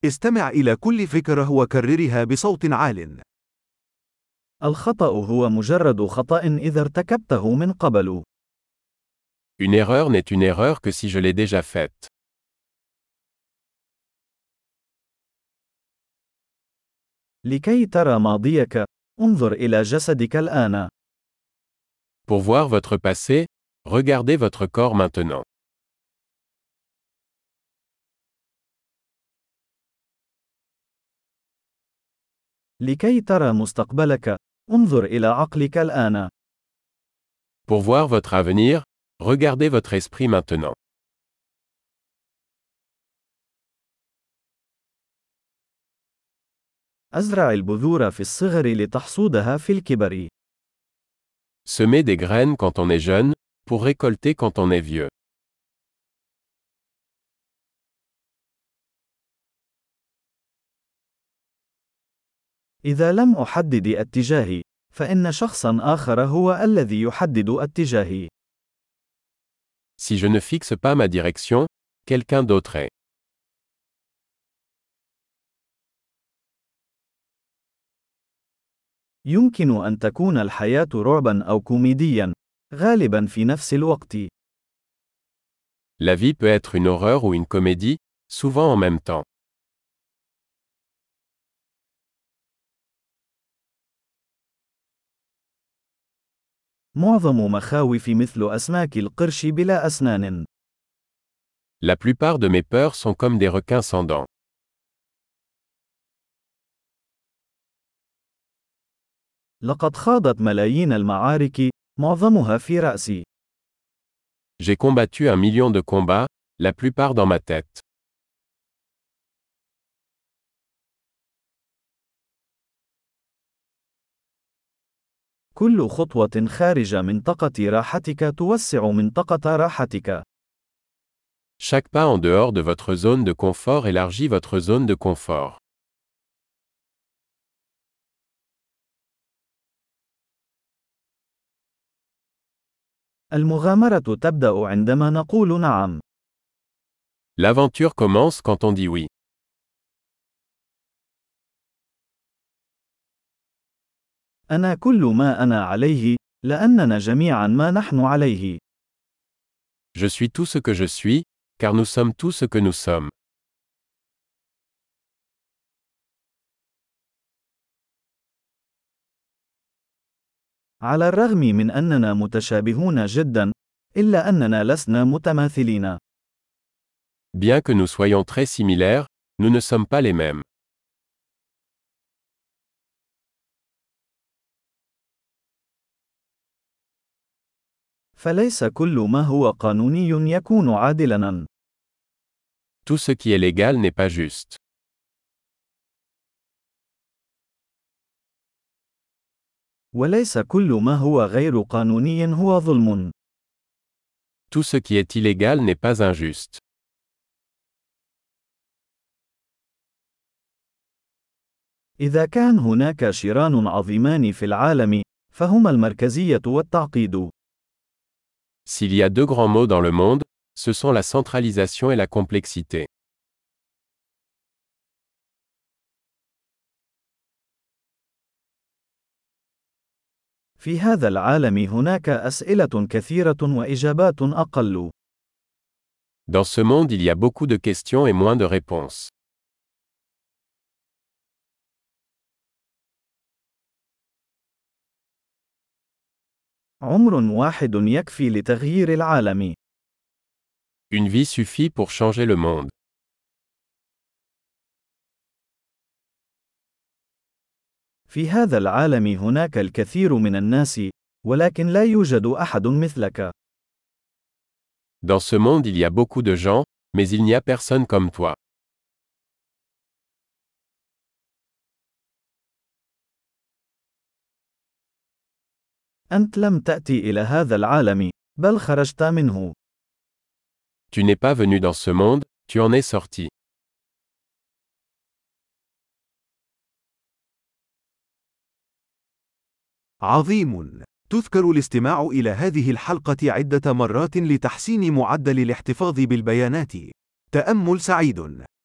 استمع إلى كل فكرة وكررها بصوت عال. الخطأ هو مجرد خطأ إذا ارتكبته من قبل. Une erreur n'est une erreur que si je l'ai déjà faite. لكي ترى ماضيك، انظر إلى جسدك الآن. Pour voir votre passé, regardez votre corps maintenant. لكي ترى مستقبلك، انظر إلى عقلك الآن. Pour voir votre avenir, regardez votre esprit maintenant. أزرع البذور في الصغر لتحصودها في الكبر. Semez des graines quand on est jeune, pour récolter quand on est vieux. إذا لم أحدد اتجاهي، فإن شخصا آخر هو الذي يحدد اتجاهي. Si je ne fixe pas ma direction, quelqu'un d'autre est. يمكن أن تكون الحياة رعبا أو كوميديا، غالبا في نفس الوقت. La vie peut être une horreur ou une comédie, souvent en même temps. معظم مخاوف مثل أسماك القرش بلا أسنان. La plupart de mes peurs sont comme des requins sans dents. لقد خاضت ملايين المعارك، معظمها في رأسي. J'ai combattu 1 million de combats, la plupart dans ma tête. كل خطوة خارج منطقة راحتك توسع منطقة راحتك. Chaque pas en dehors de votre zone de confort élargit votre zone de confort. المغامرة تبدأ عندما نقول نعم. L'aventure commence quand on dit oui. أنا كل ما أنا عليه، لأننا جميعا ما نحن عليه. Je suis tout ce que je suis, car nous sommes tout ce que nous sommes. على الرغم من أننا متشابهون جدا، إلا أننا لسنا متماثلين. Bien que nous soyons très similaires, nous ne sommes pas les mêmes. فليس كل ما هو قانوني يكون عادلاً. Tout ce qui est légal n'est pas juste. وليس كل ما هو غير قانوني هو ظلم. Tout ce qui est illégal n'est pas injuste. إذا كان هناك شران عظيمان في العالم، فهما المركزية والتعقيد. S'il y a 2 grands mots dans le monde, ce sont la centralisation et la complexité. في هذا العالم هناك أسئلة كثيرة وإجابات أقل. Dans ce monde il y a beaucoup de questions et moins de réponses. عمر واحد يكفي لتغيير العالم. Une vie suffit pour changer le monde. في هذا العالم هناك الكثير من الناس، ولكن لا يوجد أحد مثلك. Dans ce monde il y a beaucoup de gens, mais il n'y a personne comme toi. أنت لم تأتي إلى هذا العالم، بل خرجت منه. Tu n'es pas venu dans ce monde, tu en es sorti. عظيم. تذكر الاستماع إلى هذه الحلقة عدة مرات لتحسين معدل الاحتفاظ بالبيانات. تأمل سعيد.